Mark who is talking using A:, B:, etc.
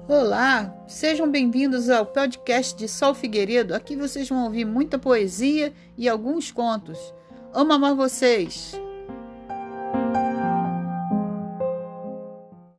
A: Olá, sejam bem-vindos ao podcast de Sol Figueiredo. Aqui vocês vão ouvir muita poesia e alguns contos. Amo amar vocês!